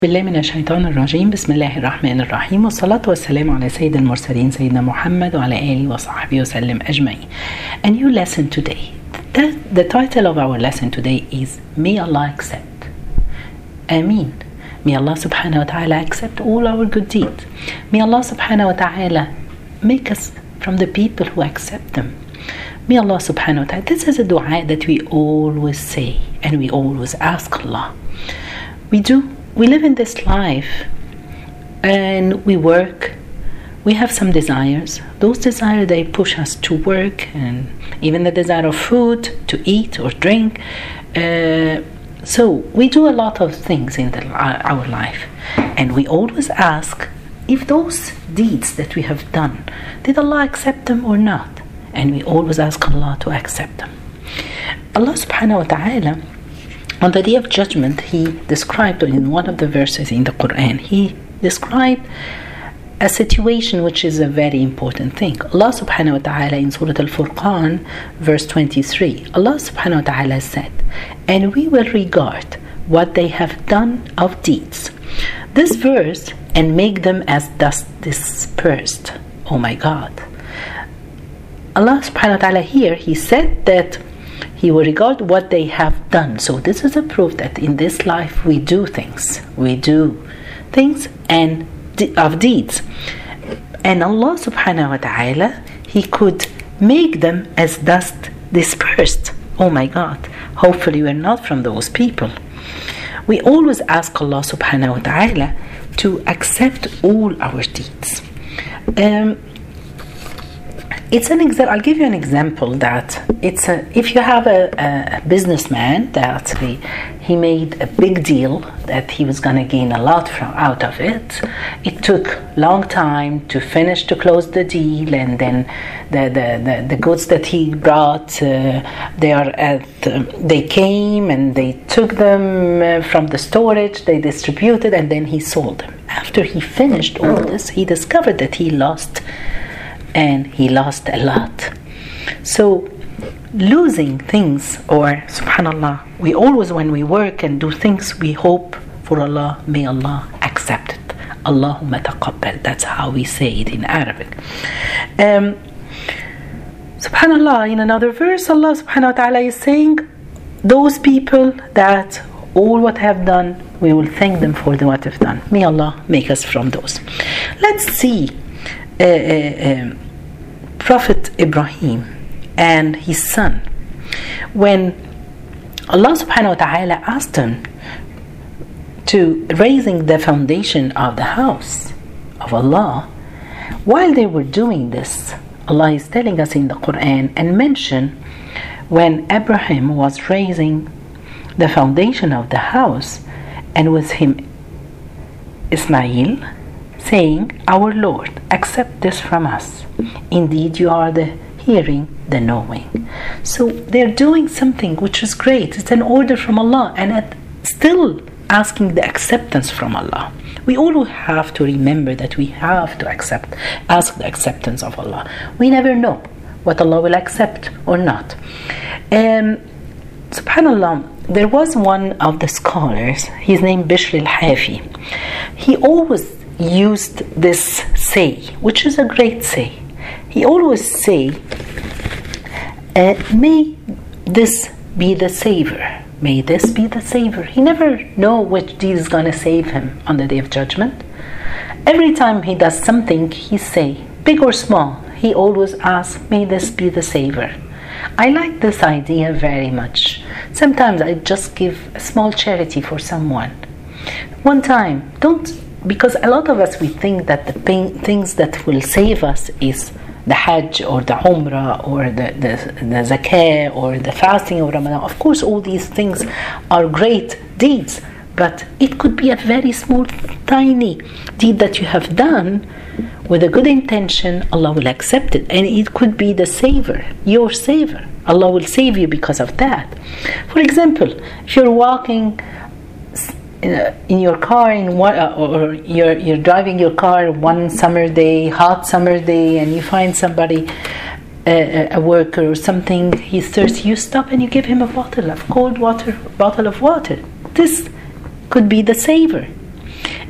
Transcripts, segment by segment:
بالله من الشيطان الرجيم. بسم الله الرحمن الرحيم، والصلاة والسلام على سيد المرسلين سيدنا محمد وعلى آله وصحبه وسلم أجمعين. A new lesson today. The title of our lesson today is May Allah accept. Ameen. May Allah subhanahu wa ta'ala accept all our good deeds. May Allah subhanahu wa ta'ala make us from the people who accept them. May Allah subhanahu wa ta'ala. This is a dua that we always say and we always ask Allah. We live in this life and we work. We have some desires. Those desires, they push us to work, and even the desire of food, to eat or drink. So we do a lot of things in our life, and we always ask if those deeds that we have done, did Allah accept them or not? And we always ask Allah to accept them. Allah subhanahu wa ta'ala, on the Day of Judgment, He described in one of the verses in the Quran, He described a situation which is a very important thing. Allah subhanahu wa ta'ala in Surah Al-Furqan, verse 23, Allah subhanahu wa ta'ala said, "And we will regard what they have done of deeds." This verse, "and make them as dust dispersed." Oh my God. Allah subhanahu wa ta'ala here, He said that He will regard what they have done. So this is a proof that in this life we do things. We do things and of deeds. And Allah subhanahu wa ta'ala, He could make them as dust dispersed. Oh my God. Hopefully we're not from those people. We always ask Allah subhanahu wa ta'ala to accept all our deeds. I'll give you an example that if you have a businessman that he made a big deal that he was going to gain a lot out of it. It took long time to close the deal, and then the goods that he brought, they came and they took them from the storage, they distributed, and then he sold them. After he finished all this, he discovered that he lost a lot. So losing things, or subhanallah, we always, when we work and do things, we hope for Allah, may Allah accept it. Allahumma taqabbal. That's how we say it in Arabic. Subhanallah, in another verse, Allah subhanahu wa ta'ala is saying, those people that all what have done, we will thank them for what they've done. May Allah make us from those. Let's see Prophet Ibrahim and his son, when Allah subhanahu wa ta'ala asked him to raising the foundation of the house of Allah, while they were doing this, Allah is telling us in the Quran and mention when Abraham was raising the foundation of the house, and with him Ismail, saying, "Our Lord, accept this from us. Indeed, you are the hearing, the knowing." So they're doing something which is great. It's an order from Allah, and still asking the acceptance from Allah. We all have to remember that we have to ask the acceptance of Allah. We never know what Allah will accept or not. Subhanallah, there was one of the scholars, his name Bishr al-Hafi. He always used this say, which is a great say. He always say, may this be the savior. May this be the savior. He never know which deed is going to save him on the Day of Judgment. Every time he does something, he say, big or small, he always asks, may this be the savior. I like this idea very much. Sometimes I just give a small charity for someone. One time, because a lot of us, we think that the things that will save us is the Hajj or the Umrah or the Zakah or the fasting of Ramadan. Of course, all these things are great deeds, but it could be a very small, tiny deed that you have done with a good intention. Allah will accept it, and it could be the savior, your savior. Allah will save you because of that. For example, if you're walking in your car or you're driving your car one summer day, hot summer day, and you find somebody, a worker or something, he's thirsty, you stop and you give him a bottle of cold water, bottle of water. This could be the savior.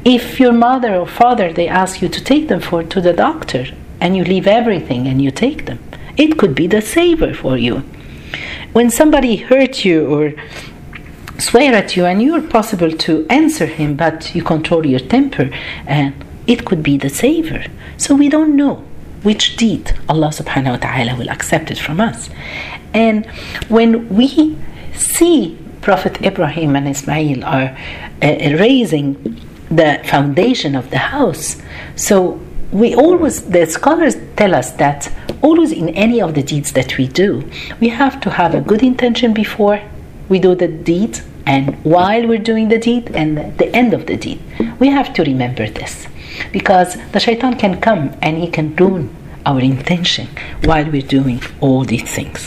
If your mother or father, they ask you to take them to the doctor, and you leave everything and you take them, it could be the saver for you. When somebody hurt you or swear at you, and you're possible to answer him, but you control your temper, and it could be the saver. So we don't know which deed Allah subhanahu wa ta'ala will accept it from us. And when we see Prophet Ibrahim and Ismail are raising the foundation of the house, so the scholars tell us that always in any of the deeds that we do, we have to have a good intention before we do the deed, and while we're doing the deed, and the end of the deed. We have to remember this, because the shaitan can come and he can ruin our intention while we're doing all these things.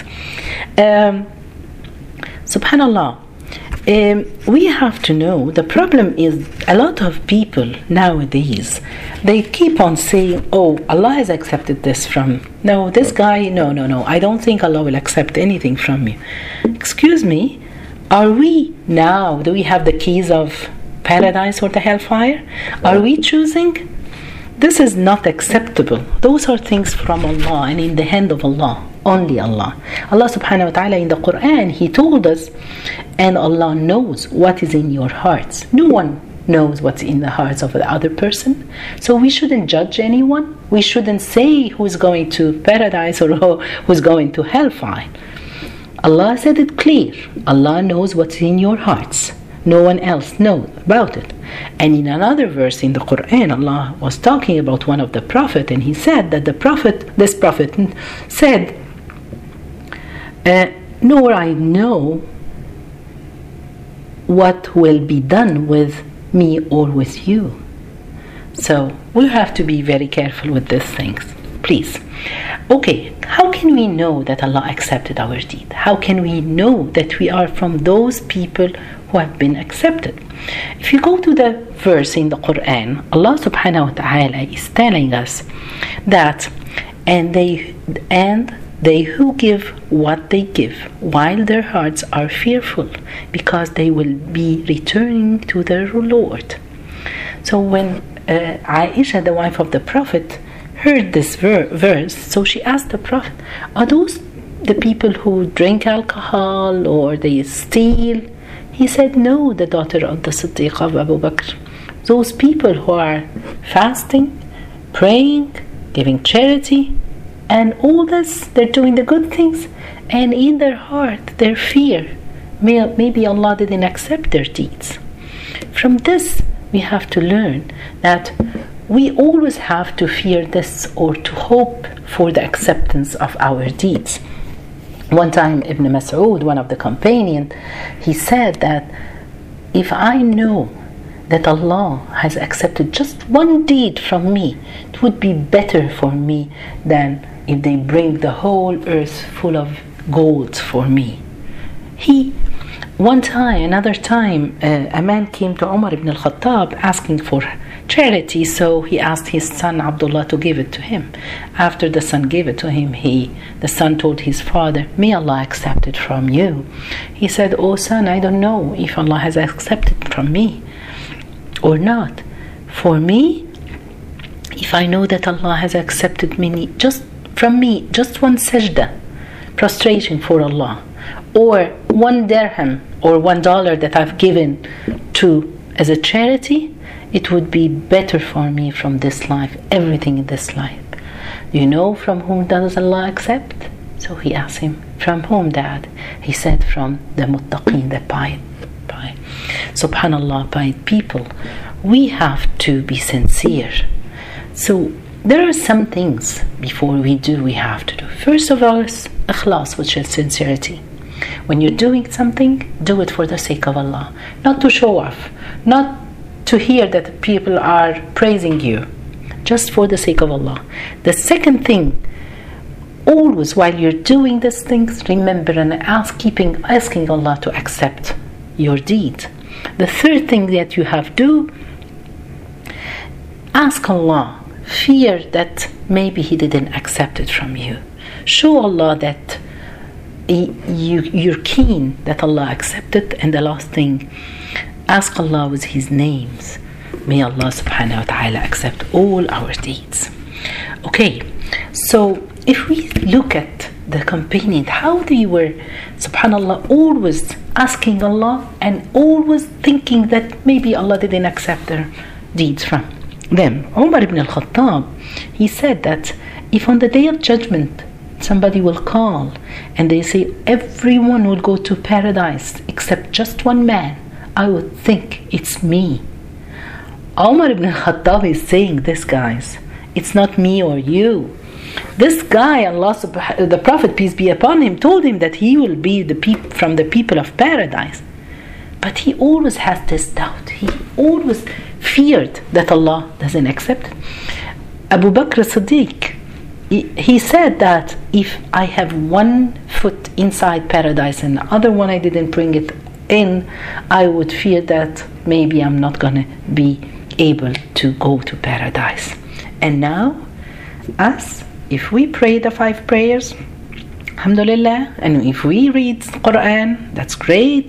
Subhanallah. We have to know, the problem is a lot of people nowadays, they keep on saying, oh, Allah has accepted this from, no, this guy, no, I don't think Allah will accept anything from you. Excuse me, are we now, do we have the keys of paradise or the hellfire? Are we choosing? This is not acceptable. Those are things from Allah and in the hand of Allah. Only Allah. Allah subhanahu wa ta'ala in the Quran, He told us, and Allah knows what is in your hearts. No one knows what's in the hearts of the other person. So we shouldn't judge anyone. We shouldn't say who's going to paradise or who's going to hellfire. Allah said it clear. Allah knows what's in your hearts. No one else knows about it. And in another verse in the Quran, Allah was talking about one of the prophets, and He said that this prophet said, nor I know what will be done with me or with you. So we have to be very careful with these things, please. Okay, how can we know that Allah accepted our deed? How can we know that we are from those people who have been accepted? If you go to the verse in the Quran, Allah subhanahu wa ta'ala is telling us that they who give what they give while their hearts are fearful, because they will be returning to their Lord. So when Aisha, the wife of the Prophet, heard this verse, so she asked the Prophet, are those the people who drink alcohol or they steal? He said, no, the daughter of the Siddiq of Abu Bakr. Those people who are fasting, praying, giving charity, and all this, they're doing the good things, and in their heart, their fear, maybe Allah didn't accept their deeds. From this, we have to learn that we always have to fear this or to hope for the acceptance of our deeds. One time, Ibn Mas'ud, one of the companions, he said that if I know that Allah has accepted just one deed from me, it would be better for me than if they bring the whole earth full of gold for me. Another time, a man came to Umar ibn al-Khattab asking for charity, so he asked his son Abdullah to give it to him. After the son gave it to him, the son told his father, may Allah accept it from you. He said, oh son, I don't know if Allah has accepted it from me or not. For me, if I know that Allah has accepted just one sajda, prostration for Allah, or one dirham or $1 that I've given as a charity, it would be better for me from this life, everything in this life. Do you know from whom does Allah accept? So he asked him, from whom, Dad? He said, from the muttaqin, the pious. Subhanallah, pious people. We have to be sincere. So there are some things before we have to do. First of all is ikhlas, which is sincerity. When you're doing something, do it for the sake of Allah, not to show off, not to hear that people are praising you, just for the sake of Allah. The second thing, always while you're doing these things, remember and asking Allah to accept your deed. The third thing that you have to do, ask Allah, fear that maybe He didn't accept it from you. Show Allah that you're keen that Allah accepted. And the last thing, ask Allah with His names May Allah subhanahu wa ta'ala accept all our deeds. Okay, so if we look at the companions, how they were, subhanallah, always asking Allah and always thinking that maybe Allah didn't accept their deeds from them. Umar ibn al-Khattab, he said that if on the day of judgment somebody will call and they say everyone will go to paradise except just one man, I would think it's me. Umar ibn al-Khattab is saying this, guys. It's not me or you. This guy, the Prophet, peace be upon him, told him that he will be from the people of paradise. But he always has this doubt. He always feared that Allah doesn't accept. Abu Bakr Siddiq, he said that if I have one foot inside paradise and the other one I didn't bring it in, I would fear that maybe I'm not going to be able to go to paradise. And now, us, if we pray the 5 prayers, alhamdulillah, and if we read Quran, that's great.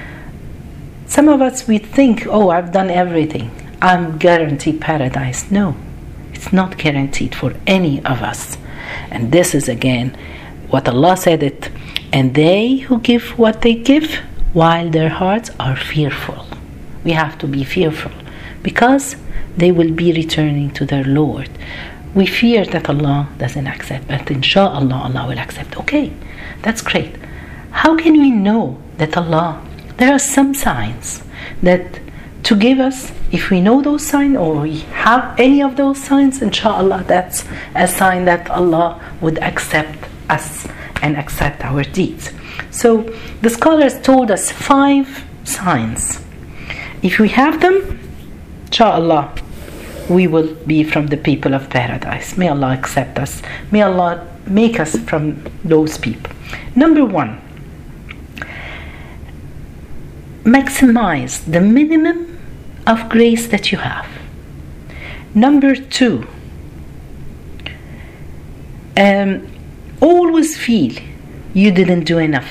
Some of us, we think, oh, I've done everything, I'm guaranteed paradise. No, it's not guaranteed for any of us. And this is again what Allah said it, and they who give what they give while their hearts are fearful. We have to be fearful because they will be returning to their Lord. We fear that Allah doesn't accept, but inshallah Allah will accept. Okay, that's great. How can we know that Allah, there are some signs that to give us, if we know those signs or we have any of those signs, inshallah that's a sign that Allah would accept us and accept our deeds. So the scholars told us 5 signs. If we have them, inshallah we will be from the people of paradise. May Allah accept us. May Allah make us from those people. Number 1, maximize the minimum of grace that you have. Number 2, always feel you didn't do enough.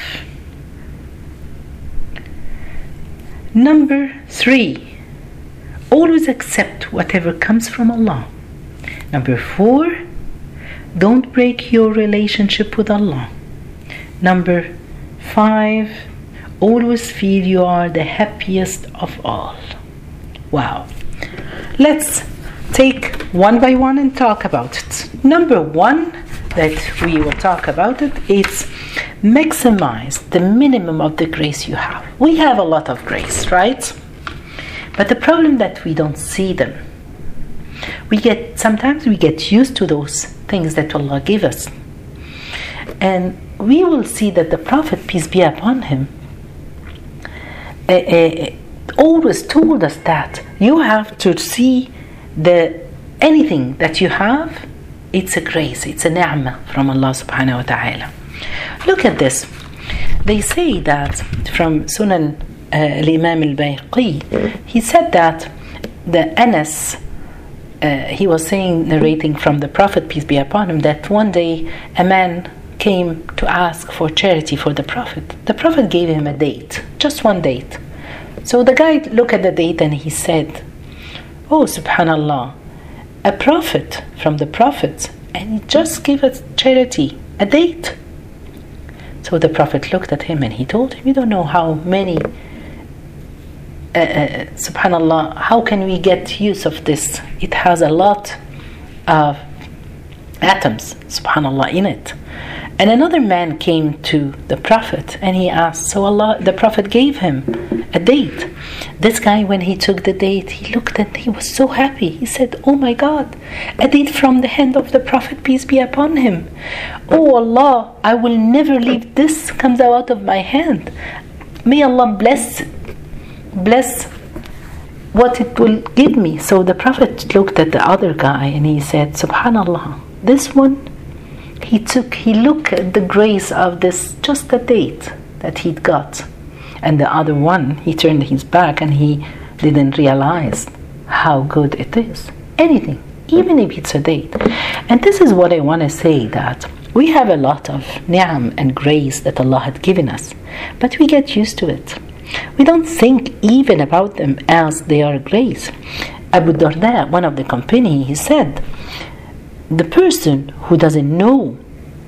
Number 3, always accept whatever comes from Allah. Number 4, don't break your relationship with Allah. Number 5, always feel you are the happiest of all. Wow. Let's take one by one and talk about it. Number 1 that we will talk about it's maximize the minimum of the grace you have. We have a lot of grace, right? But the problem that we don't see them. Sometimes we get used to those things that Allah gave us. And we will see that the Prophet, peace be upon him, always told us that you have to see anything that you have, it's a grace, it's a ni'mah from Allah subhanahu wa ta'ala. Look at this. They say that from Sunan al-Imam al-Bayqi, he said that the Anas, he was saying, narrating from the Prophet, peace be upon him, that one day a man came to ask for charity for the Prophet. The Prophet gave him a date, just one date. So the guy looked at the date and he said, oh, subhanallah, a prophet from the prophets, and he just gave us charity, a date. So the Prophet looked at him and he told him, you don't know how many, subhanallah, how can we get use of this? It has a lot of atoms, subhanallah, in it. And another man came to the Prophet and he asked, so the Prophet gave him a date. This guy, when he took the date, he looked and he was so happy. He said, oh my God, a date from the hand of the Prophet, peace be upon him. Oh Allah, I will never leave this comes out of my hand. May Allah bless what it will give me. So the Prophet looked at the other guy and he said, subhanallah, this one, he looked at the grace of this, just a date that he'd got. And the other one, he turned his back and he didn't realize how good it is. Anything, even if it's a date. And this is what I want to say, that we have a lot of ni'am and grace that Allah had given us, but we get used to it. We don't think even about them as they are grace. Abu Darda, one of the company, he said, the person who doesn't know,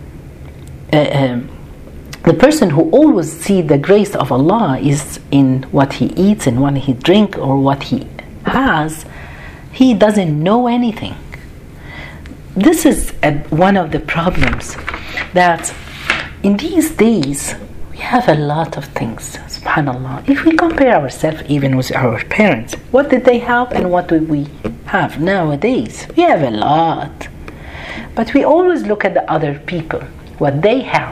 the person who always sees the grace of Allah is in what he eats and what he drinks or what he has, he doesn't know anything. This is one of the problems, that in these days we have a lot of things, subhanallah. If we compare ourselves even with our parents, what did they have and what do we have nowadays? We have a lot. But we always look at the other people, what they have.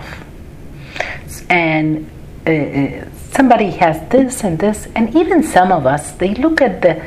And somebody has this and this, and even some of us, they look at the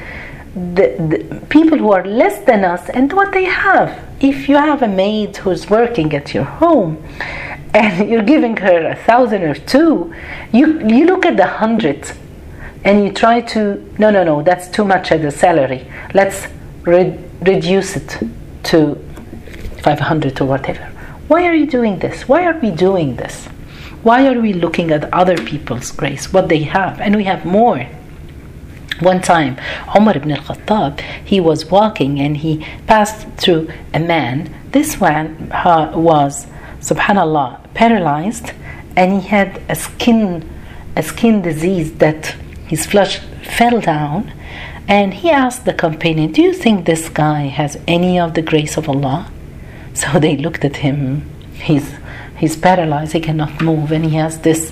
people who are less than us and what they have. If you have a maid who's working at your home and you're giving her 1,000 or 2, you look at the 100 and you try to, no, that's too much as a salary. Let's reduce it to 500 or whatever. Why are you doing this? Why are we doing this? Why are we looking at other people's grace, what they have, and we have more? One time, Umar ibn al-Khattab, he was walking and he passed through a man. This man was, subhanallah, paralyzed, and he had a skin disease that his flesh fell down. And he asked the companion, do you think this guy has any of the grace of Allah? So they looked at him. He's paralyzed, he cannot move, and he has this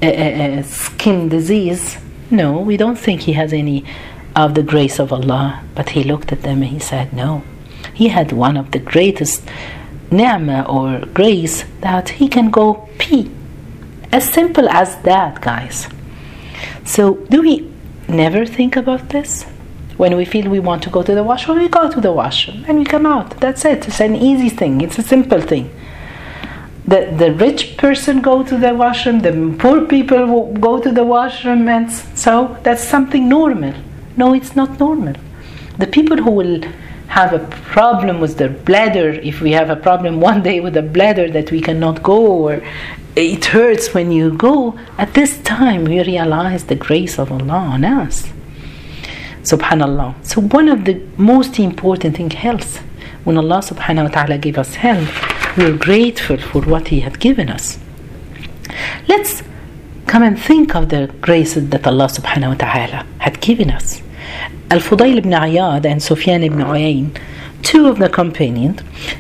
skin disease. No, we don't think he has any of the grace of Allah. But he looked at them and he said, no. He had one of the greatest ni'mah or grace, that he can go pee. As simple as that, guys. So do we never think about this? When we feel we want to go to the washroom, we go to the washroom and we come out. That's it. It's an easy thing. It's a simple thing. The rich person go to the washroom, the poor people will go to the washroom, and so that's something normal. No, it's not normal. The people who will have a problem with their bladder, if we have a problem one day with the bladder that we cannot go, or it hurts when you go, at this time we realize the grace of Allah on us. Subhanallah. So one of the most important thing, health. When Allah subhanahu wa ta'ala gave us health, we are grateful for what He had given us. Let's come and think of the graces that Allah subhanahu wa ta'ala had given us. Al-Fudayl ibn Iyad and Sufyan ibn Uyayn, two of the companions,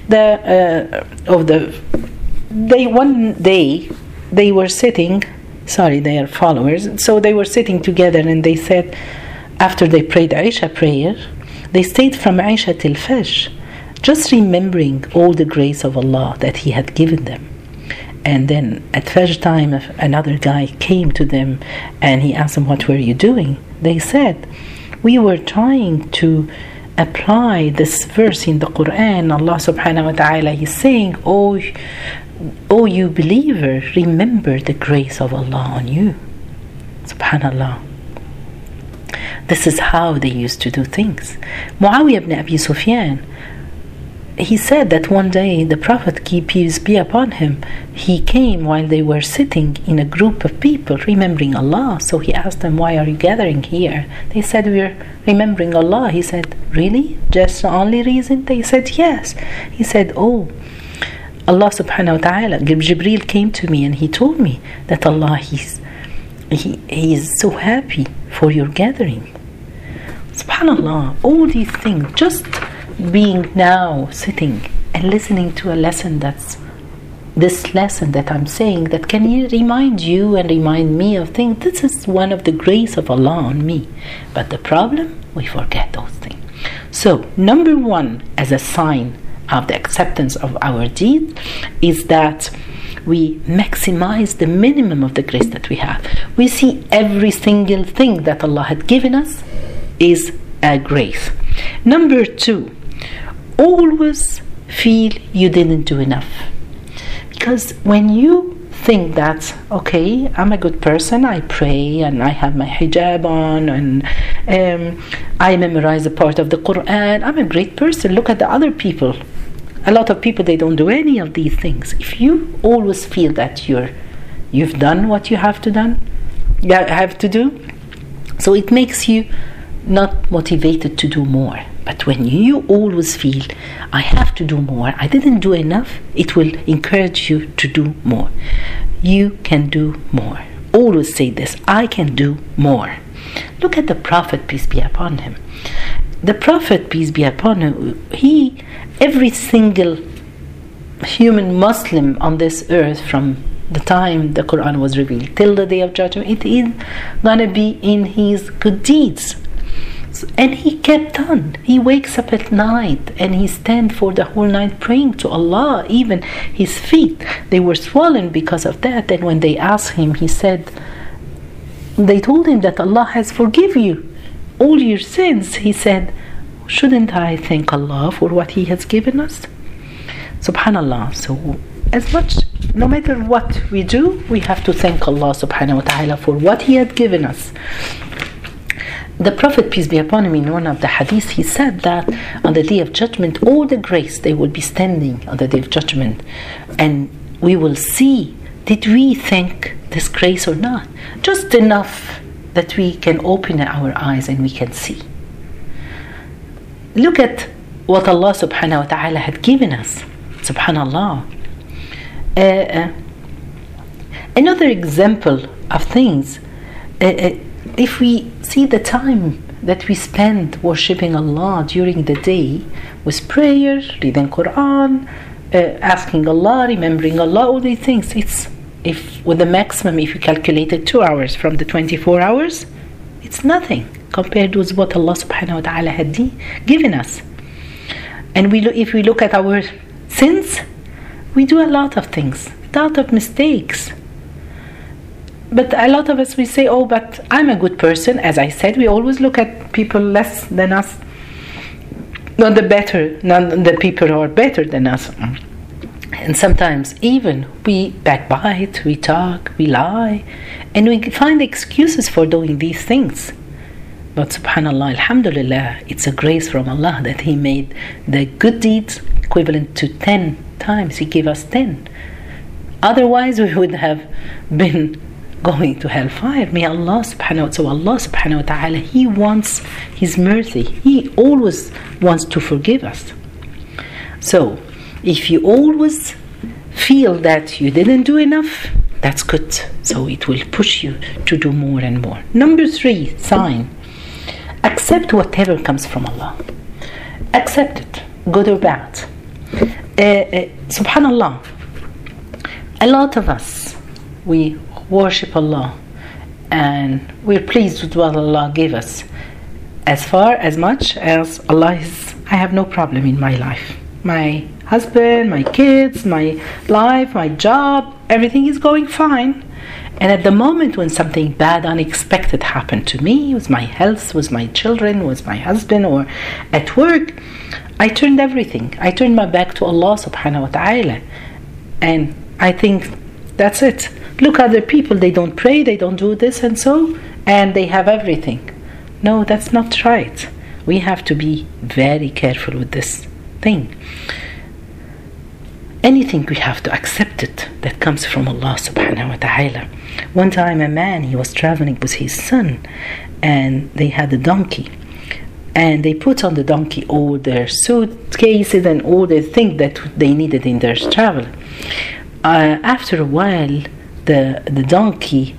one day they were sitting, they are followers, so they were sitting together, and they said, after they prayed Isha prayer, they stayed from Isha till Fajr, just remembering all the grace of Allah that He had given them. And then at Fajr time, another guy came to them and he asked them, what were you doing? They said, we were trying to apply this verse in the Quran. Allah subhanahu wa ta'ala is saying, oh you believer, remember the grace of Allah on you. Subhanallah. This is how they used to do things. Muawiyah ibn Abi Sufyan, he said that one day the Prophet, peace be upon him, he came while they were sitting in a group of people remembering Allah. So he asked them, why are you gathering here? They said, we're remembering Allah. He said, really? Just the only reason? They said, yes. He said, oh, Allah subhanahu wa ta'ala, Jibreel came to me and he told me that Allah, He is so happy for your gathering. Subhanallah, all these things, just being now sitting and listening to a lesson, that's this lesson that I'm saying, that can remind you and remind me of things. This is one of the grace of Allah on me. But the problem, we forget those things. So number one, as a sign of the acceptance of our deed, is that we maximize the minimum of the grace that we have. We see every single thing that Allah had given us is a grace. Number two, always feel you didn't do enough. Because when you think that, okay, I'm a good person, I pray and I have my hijab on and I memorize a part of the Quran, I'm a great person, look at the other people. A lot of people, they don't do any of these things. If you always feel that you've done what you have to do, so it makes you not motivated to do more. But when you always feel, I have to do more, I didn't do enough, it will encourage you to do more. You can do more. Always say this, I can do more. Look at the Prophet, peace be upon him. The Prophet, peace be upon him, every single human Muslim on this earth, from the time the Quran was revealed till the day of judgment, it is gonna be in his good deeds. And he kept on. He wakes up at night and he stands for the whole night praying to Allah. Even his feet, they were swollen because of that. And when they asked him, he said, they told him that Allah has forgiven you all your sins. He said, shouldn't I thank Allah for what He has given us? Subhanallah. So as much, no matter what we do, we have to thank Allah subhanahu wa ta'ala for what He had given us. The Prophet, peace be upon him, in one of the hadiths, he said that on the day of judgment, all the grace, they will be standing on the day of judgment, and we will see, did we thank this grace or not? Just enough that we can open our eyes and we can see. Look at what Allah subhanahu wa ta'ala had given us. Subhanallah. Another example of things, if we see the time that we spend worshipping Allah during the day with prayer, reading Quran, asking Allah, remembering Allah, all these things, it's, if with the maximum, if you calculated 2 hours from the 24 hours, it's nothing compared with what Allah subhanahu wa ta'ala had given us. And if we look at our sins, we do a lot of things, a lot of mistakes. But a lot of us, we say, oh, but I'm a good person. As I said, we always look at people less than us, not the people who are better than us. And sometimes even we backbite, we talk, we lie, and we find excuses for doing these things. But subhanallah, alhamdulillah, it's a grace from Allah that He made the good deeds equivalent to 10 times. He gave us 10. Otherwise, we would have been going to hellfire. May Allah subhanahu wa ta'ala, He wants His mercy. He always wants to forgive us. So, if you always feel that you didn't do enough, that's good. So it will push you to do more and more. Number 3 sign. Accept whatever comes from Allah. Accept it, good or bad. Subhanallah. A lot of us, we worship Allah and we're pleased with what Allah gave us. As much as Allah is, I have no problem in my life. My husband, my kids, my life, my job, everything is going fine. And at the moment when something bad, unexpected happened to me, with my health, with my children, with my husband, or at work, I turned everything. I turned my back to Allah subhanahu wa ta'ala. And I think that's it. Look at other people, they don't pray, they don't do this and so, and they have everything. No, that's not right. We have to be very careful with this thing. Anything, we have to accept it that comes from Allah subhanahu wa ta'ala. One time a man, he was traveling with his son, and they had a donkey, and they put on the donkey all their suitcases and all the things that they needed in their travel. After a while, the donkey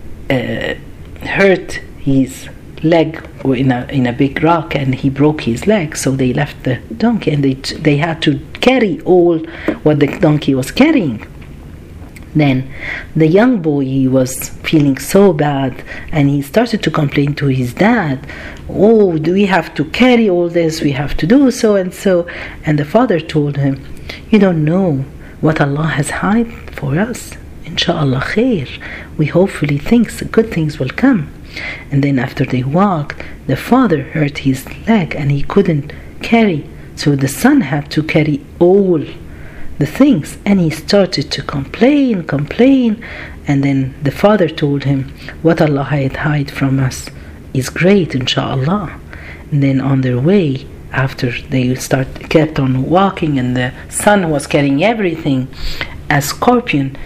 hurt his leg in a big rock, and he broke his leg. So they left the donkey, and they had to carry all what the donkey was carrying. Then the young boy, he was feeling so bad, and he started to complain to his dad, oh, do we have to carry all this, we have to do so and so. And the father told him, you don't know what Allah has hid for us. Inshallah khair, we hopefully good things will come. And then after they walked, the father hurt his leg and he couldn't carry, so the son had to carry all the things, and he started to complain, and then the father told him, what Allah had hid from us is great, inshallah. And then on their way, after they kept on walking, and the son was carrying everything, a scorpion,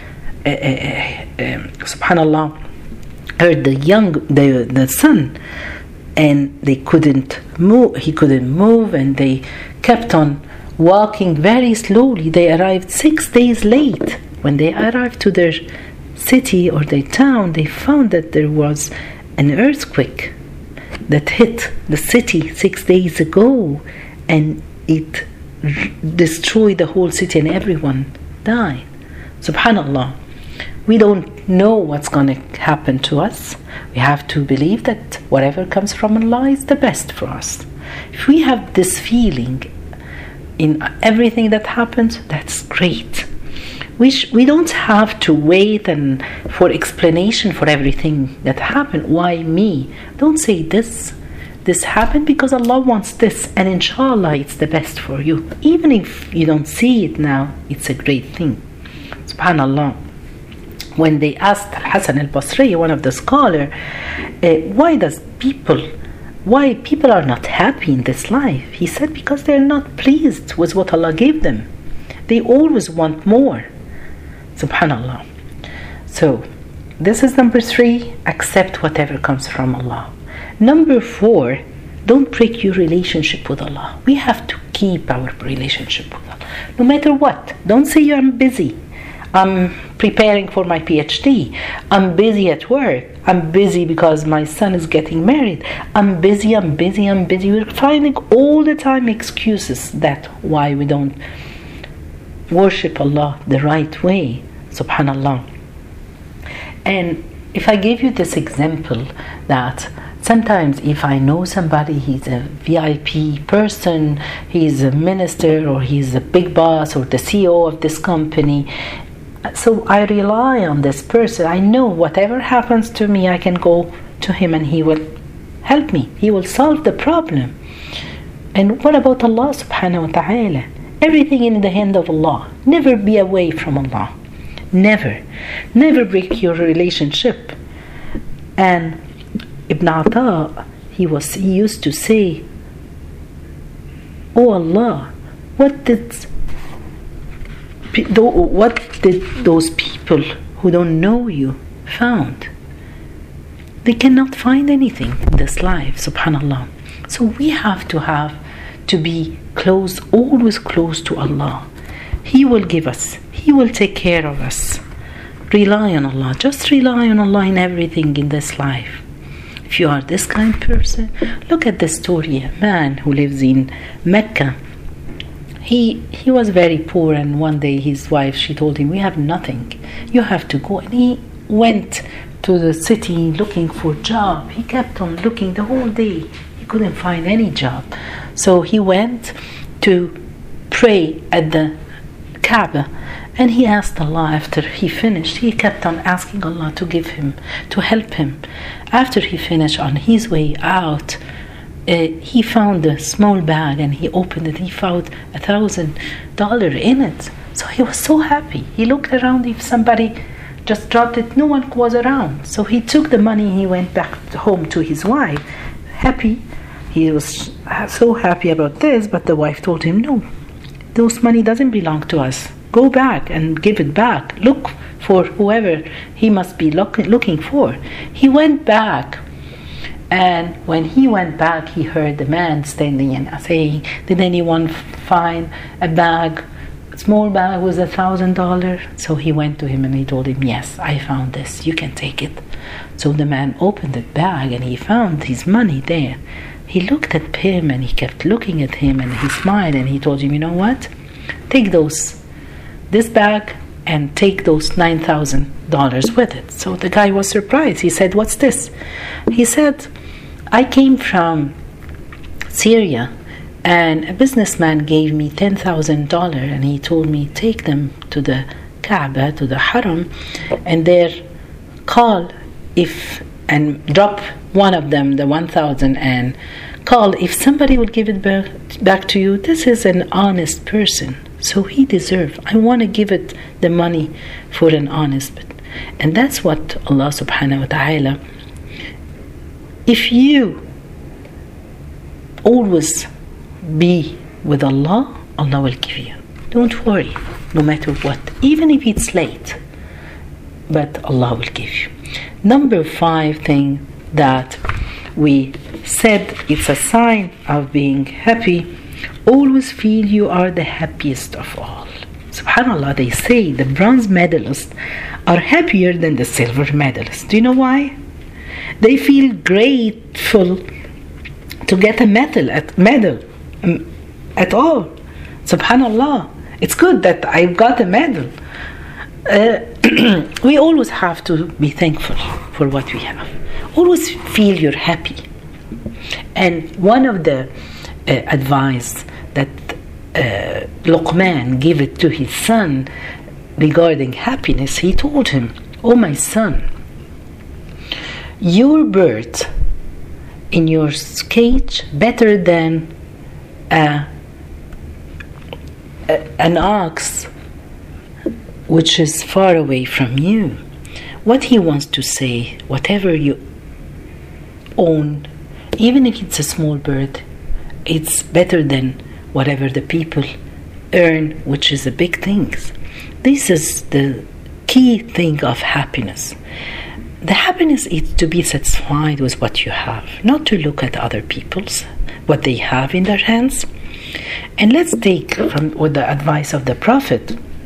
subhanallah, hurt the son, and they couldn't move. He couldn't move, and they kept on walking very slowly. They arrived 6 days late. When they arrived to their city or their town, they found that there was an earthquake that hit the city 6 days ago, and it destroyed the whole city, and everyone died. Subhanallah. We don't know what's going to happen to us. We have to believe that whatever comes from Allah is the best for us. If we have this feeling in everything that happens, that's great. We don't have to wait and for explanation for everything that happened. Why me? Don't say this happened because Allah wants this, and inshallah it's the best for you. Even if you don't see it now, it's a great thing. Subhanallah. When they asked Al-Hasan al-Basri, one of the scholars, why people are not happy in this life? He said because they're not pleased with what Allah gave them. They always want more. Subhanallah. So this is number 3, accept whatever comes from Allah. Number 4, don't break your relationship with Allah. We have to keep our relationship with Allah. No matter what. Don't say I'm busy. I'm preparing for my PhD. I'm busy at work. I'm busy because my son is getting married. I'm busy. We're finding all the time excuses that why we don't worship Allah the right way. Subhanallah. And if I give you this example that sometimes if I know somebody, he's a VIP person, he's a minister, or he's a big boss, or the CEO of this company, so I rely on this person. I know whatever happens to me, I can go to him and he will help me. He will solve the problem. And what about Allah subhanahu wa ta'ala? Everything in the hand of Allah. Never be away from Allah. Never break your relationship. And Ibn Ata, he used to say, "Oh Allah, what did those people who don't know you found? They cannot find anything in this life." Subhanallah. So we have to be close, always close to Allah. He will give us. He will take care of us. Rely on Allah. Just rely on Allah in everything in this life. If you are this kind of person, look at the story. A man who lives in Mecca. He was very poor, and one day his wife, she told him, "We have nothing. You have to go." And he went to the city looking for a job. He kept on looking the whole day. He couldn't find any job. So he went to pray at the Kaaba, and he asked Allah. After he finished, he kept on asking Allah to help him. After he finished, on his way out, he found a small bag, and he opened it. He found $1,000 in it. So he was so happy. He looked around if somebody just dropped it. No one was around. So he took the money. He went back home to his wife, happy. He was so happy about this, but the wife told him, "No, those money doesn't belong to us. Go back and give it back. Look for whoever he must be looking for." He went back. And when he went back, he heard the man standing and saying, "Did anyone find a bag, a small bag with $1,000? So he went to him and he told him, "Yes, I found this. You can take it." So the man opened the bag and he found his money there. He looked at him and he kept looking at him, and he smiled and he told him, "You know what? Take this bag and take those $9,000 with it." So the guy was surprised. He said, "What's this?" He said, "I came from Syria, and a businessman gave me $10,000, and he told me take them to the Kaaba, to the Haram, and there call and drop one of them, the 1,000, and call. If somebody will give it back to you, this is an honest person, so he deserves. I want to give it the money for an honest." And that's what Allah subhanahu wa ta'ala, if you always be with Allah, Allah will give you. Don't worry, no matter what, even if it's late, but Allah will give you. Number 5 thing that we said it's a sign of being happy. Always feel you are the happiest of all. Subhanallah, they say the bronze medalists are happier than the silver medalists. Do you know why? They feel grateful to get a medal at all. Subhanallah, it's good that I got a medal. We always have to be thankful for what we have. Always feel you're happy. And one of the advice that Luqman gave it to his son regarding happiness, he told him, "Oh my son, your birth in your cage better than an ox which is far away from you." What he wants to say, whatever you own, even if it's a small bird, it's better than whatever the people earn, which is a big thing. This is the key thing of happiness. The happiness is to be satisfied with what you have, not to look at other people's, what they have in their hands. And let's take from with the advice of the Prophet,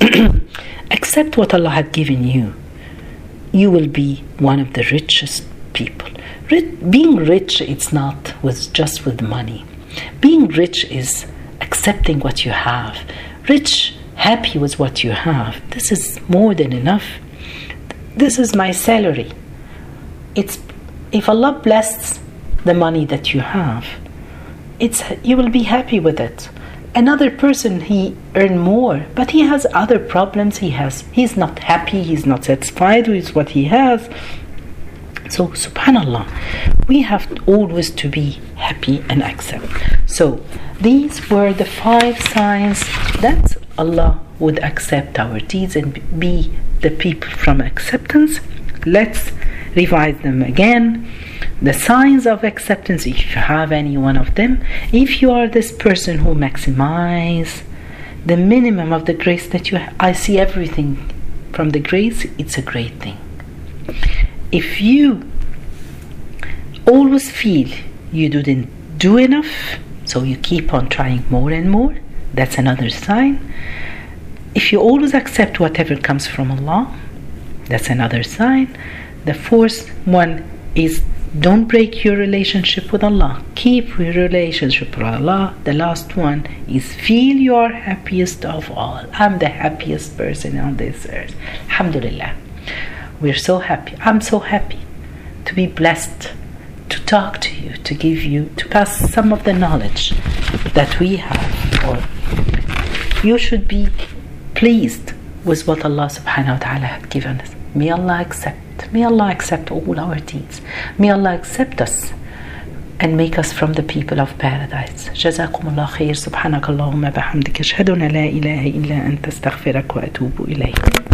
accept what Allah had given you. You will be one of the richest people. Being rich, it's not just with money. Being rich is accepting what you have. Rich, happy with what you have. This is more than enough. This is my salary. It's if Allah blesses the money that you have, you will be happy with it. Another person, he earn more, but he has other problems. He's not happy. He's not satisfied with what he has. So, subhanallah, we have always to be happy and accept. So, these were the 5 signs that Allah would accept our deeds and be the people from acceptance. Let's revise them again. The signs of acceptance, if you have any one of them, if you are this person who maximize the minimum of the grace that you have, I see everything from the grace, it's a great thing. If you always feel you didn't do enough, so you keep on trying more and more, that's another sign. If you always accept whatever comes from Allah, that's another sign. The 4th one is don't break your relationship with Allah. Keep your relationship with Allah. The last one is feel you are happiest of all. I'm the happiest person on this earth. Alhamdulillah. We're so happy. I'm so happy to be blessed, to talk to you, to give you, to pass some of the knowledge that we have. Or you should be pleased with what Allah subhanahu wa ta'ala had given us. May Allah accept. May Allah accept all our deeds. May Allah accept us and make us from the people of paradise. جزاكم الله خير. سبحانك اللهم بحمدك أشهد أن لا إله إلا أنت أستغفرك وأتوب إليك.